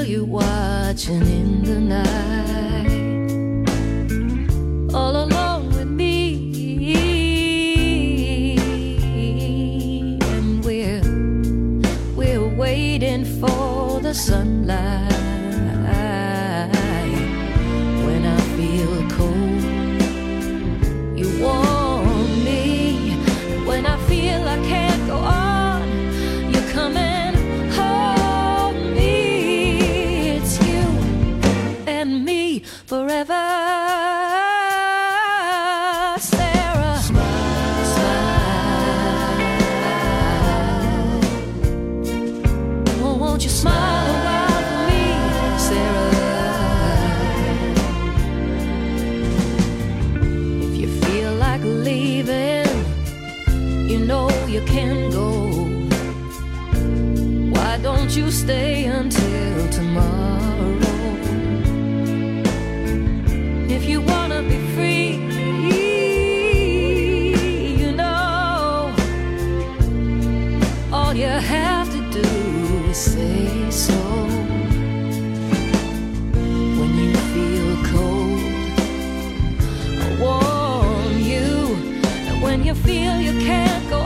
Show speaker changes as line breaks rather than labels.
feel you watching in the night, all alone with me, and we're waiting for the sunlight. When I feel cold, you warm me. When I feel I can't go on, you come and hold me. It's you and me forever. Sarah, smile, smile. Oh, won't you smile a while for me, Sarah? If you feel like leaving, you know you can go. Why don't you stay until tomorrow? If you wanna be free, you know, all you have to do is say so. When you feel cold, I'll warm you. And when you feel you can't go